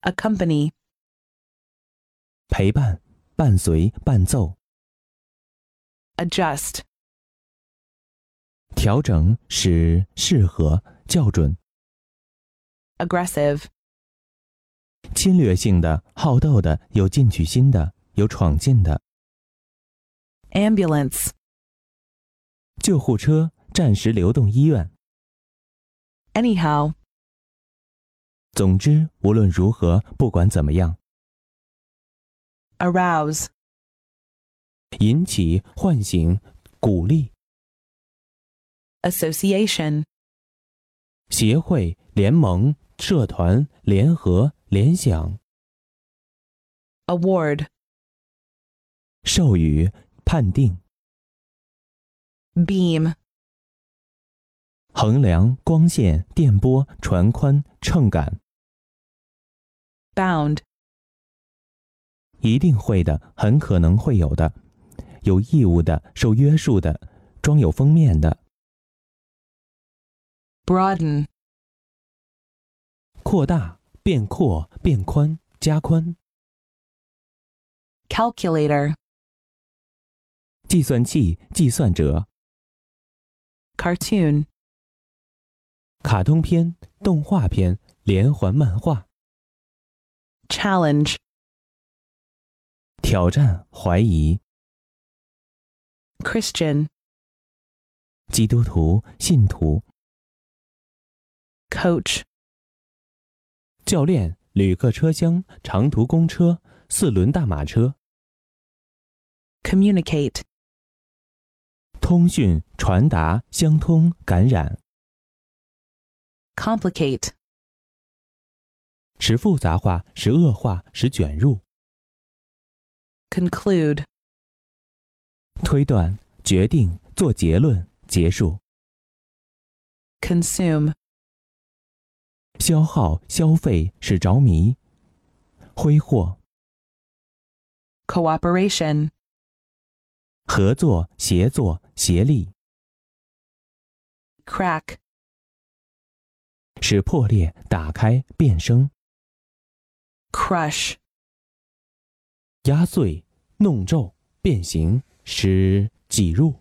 accompany, 陪伴、伴随、伴奏。 adjust, 调整使适合、校准。 aggressive, 侵略性的、好斗的、有进取心的、有闯劲的。 ambulance, 救护车、暂时流动医院。 anyhow, 总之，无论如何，不管怎么样。 arouse, 引起、唤醒、鼓励。 association, 协会、联盟、社团、联合、联想。 award, 授予、判定。 beam, 衡量、光线、电波、传宽、秤杆。 bound, 一定会的，很可能会有的，有义务的，受约束的，装有封面的。 broaden, 扩大、变阔、变宽、加宽。 calculator, 计算器、计算者。 cartoon, 卡通片、动画片、连环漫画。 challenge, 挑战、怀疑。 Christian, 基督徒、信徒。 coach, 教练、旅客车厢、长途公车、四轮大马车。 communicate, 通讯、传达、相通、感染。 complicate, 使复杂化，使恶化，使卷入。 conclude, 推断、决定、做结论、结束。 consume, 消耗、消费，使着迷。挥霍。 cooperation, 合作、协作、协力。 crack, 使破裂、打开、变声。 crush, 压碎、弄皱、变形，使挤入。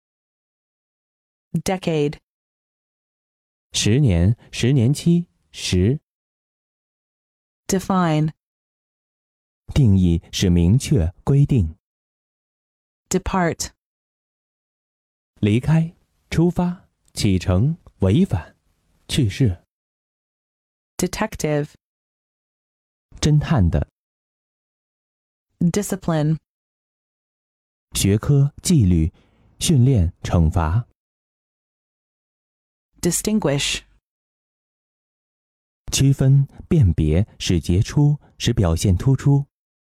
decade, 10年、10年期、10。 define, 定义，使明确、规定。 depart, 离开、出发、启程、违反、去世。 detective, 侦探的。 discipline, 学科、纪律、训练、惩罚。 distinguish, 区分、辨别，使杰出，使表现突出。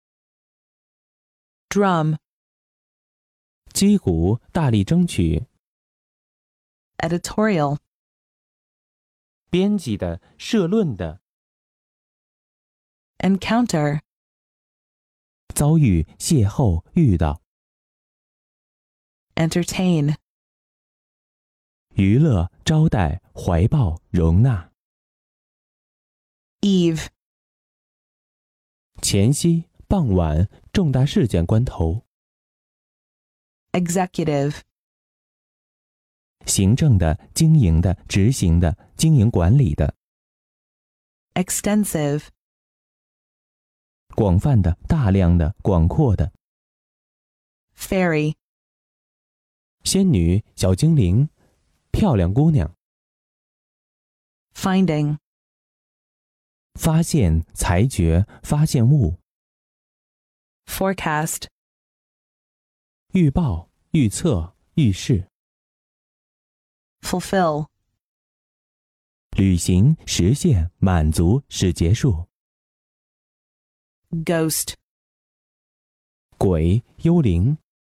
drum, 击鼓，大力争取。 editorial, 编辑的，社论的。 encounter, 遭遇、邂逅、遇到。 entertain, 娱乐、招待、怀抱、容纳。 eve, 前夕、傍晚，重大事件关头。 executive, 行政的、经营的、执行的、经营管理的。 extensive, 广泛的、大量的、广阔的。 fairy, 仙女、小精灵、漂亮姑娘。 finding, 发现、裁决、发现物。 forecast, 预报、预测、预示。 fulfill, 履行、实现、满足，使结束。 ghost, 鬼、幽灵。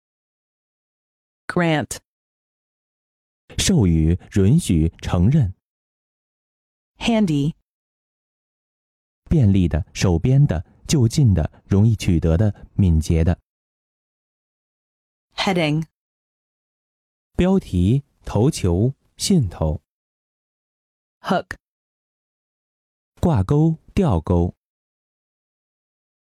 grant, 授予、允许、承认。 handy, 便利的、手边的、就近的、容易取得的、敏捷的。 heading, 标题、头球、线头。 hook, 挂钩、吊钩。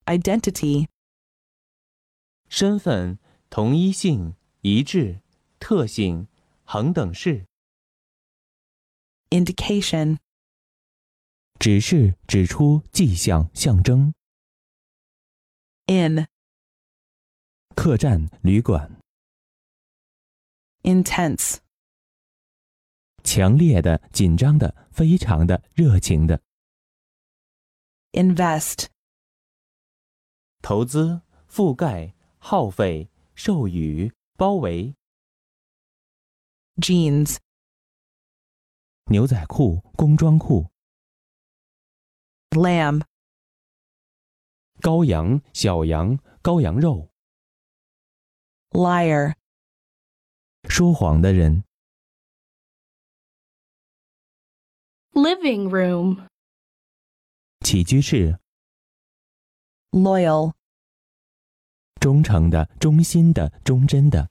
identity, 身份、同一性、一致、特性、恒等式。 indication, 指示、指出、迹象、象征。 in, 客栈、旅馆。 intense, 强烈的、紧张的、非常的、热情的。 invest, 投资、覆盖、耗费、授予、包围。 jeans, 牛仔裤、工装裤。 lamb, 羔羊、小羊、羔羊肉。 liar, 说谎的人。 living room, 起居室。 loyal, 忠诚的、忠心的、忠贞的。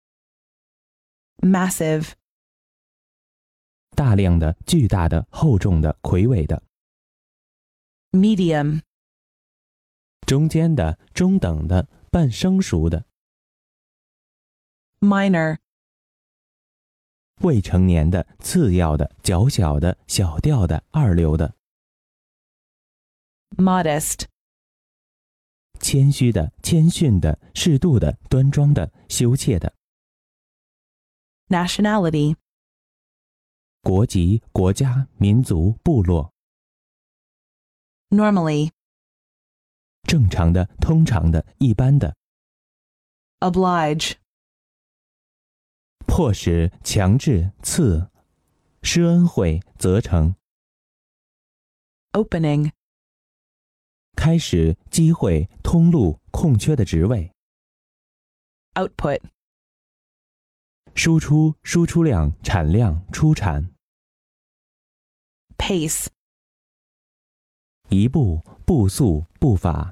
massive, 大量的、巨大的、厚重的、魁伟的。 medium, 中间的、中等的、半生熟的。 minor, 未成年的、次要的、较小的、小调的、二流的。 modest, 谦虚的、谦逊的、适度的、端庄的、羞怯的。 nationality, 国籍、国家、民族、部落。 normally, 正常的、通常的、一般的。 oblige, 迫使、强制、赐。施恩惠、责成。 opening, 开始、机会、通路、空缺的职位。 output, 输出、输出量、产量、出产。 pace, 一步、步速、步伐。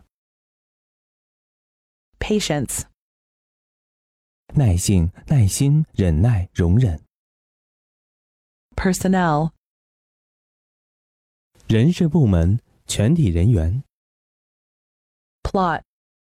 patience, 耐性、耐心、忍耐、容忍。 personnel, 人事部门、全体人员。 plot,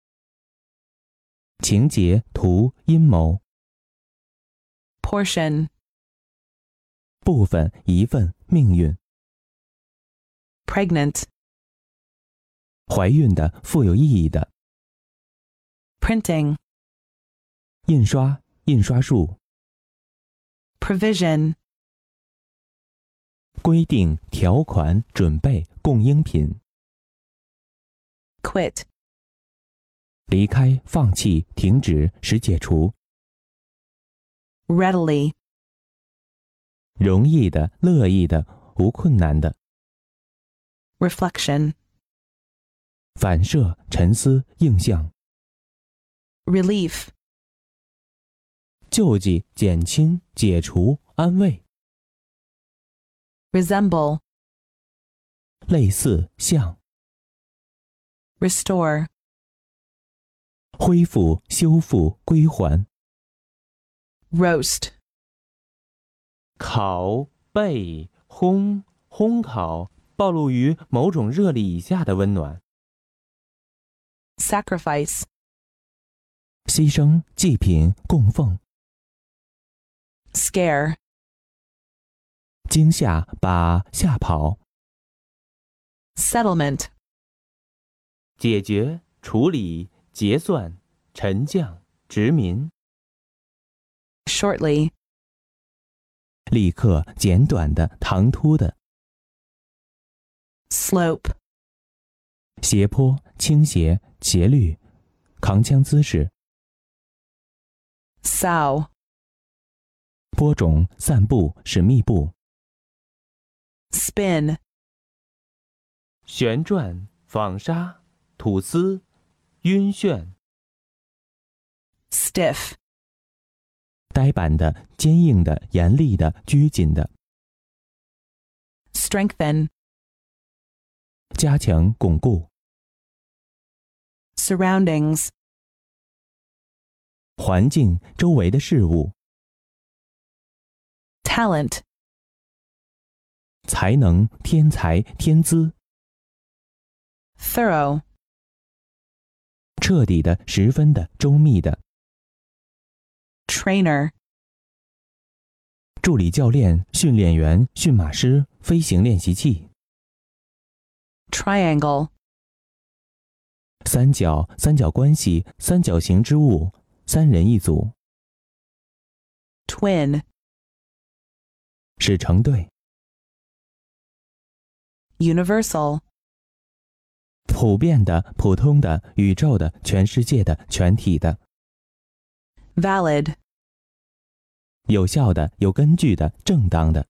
情节、图、阴谋。 portion, 部分、一份、命运。 pregnant, 怀孕的、富有意义的。 printing, 印刷、印刷术。 provision, 规定、条款、准备、供应品。 quit, 离开、放弃、停止、使解除。 readily, 容易的、乐意的、无困难的。 reflection, 反射、沉思、映像。 relief, 救济、减轻、解除、安慰。 resemble, 类似、像。 restore, 恢复、修复、归还。 roast, 烤、焙、烘、烘烤，暴露于某种热力以下的温暖。 sacrifice, 牺牲、祭品、供奉。 scare, 惊吓，把吓跑。 settlement, 解决、处理、结算、沉降、殖民。 shortly, 立刻、简短的、唐突的。 slope, 斜坡、倾斜、斜率、扛枪姿势。 sow, 播种、散布、使密布。 spin, 旋转、纺纱、吐丝、晕眩。 stiff, 呆板的、坚硬的、严厉的、拘谨的。 strengthen, 加强、巩固。 surroundings, 环境、周围的事物。 talent, 才能、天才、天资。 thorough, 彻底的、十分的、周密的。 trainer, 助理教练、训练员、驯马师、飞行练习器。 triangle, 三角、三角关系、三角形之物，三人一组。 twin, 是成对。 universal, 普遍的、普通的、宇宙的、全世界的、全体的。 valid, 有效的、有根据的、正当的。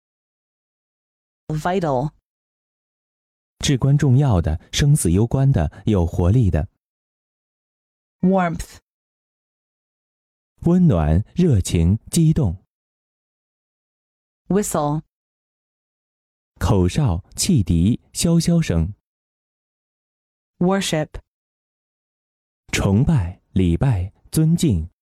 vital, 至关重要的、生死攸关的、有活力的。 warmth, 温暖、热情、激动。 whistle, 口哨、汽笛、箫箫声。 worship, 崇拜、礼拜、尊敬。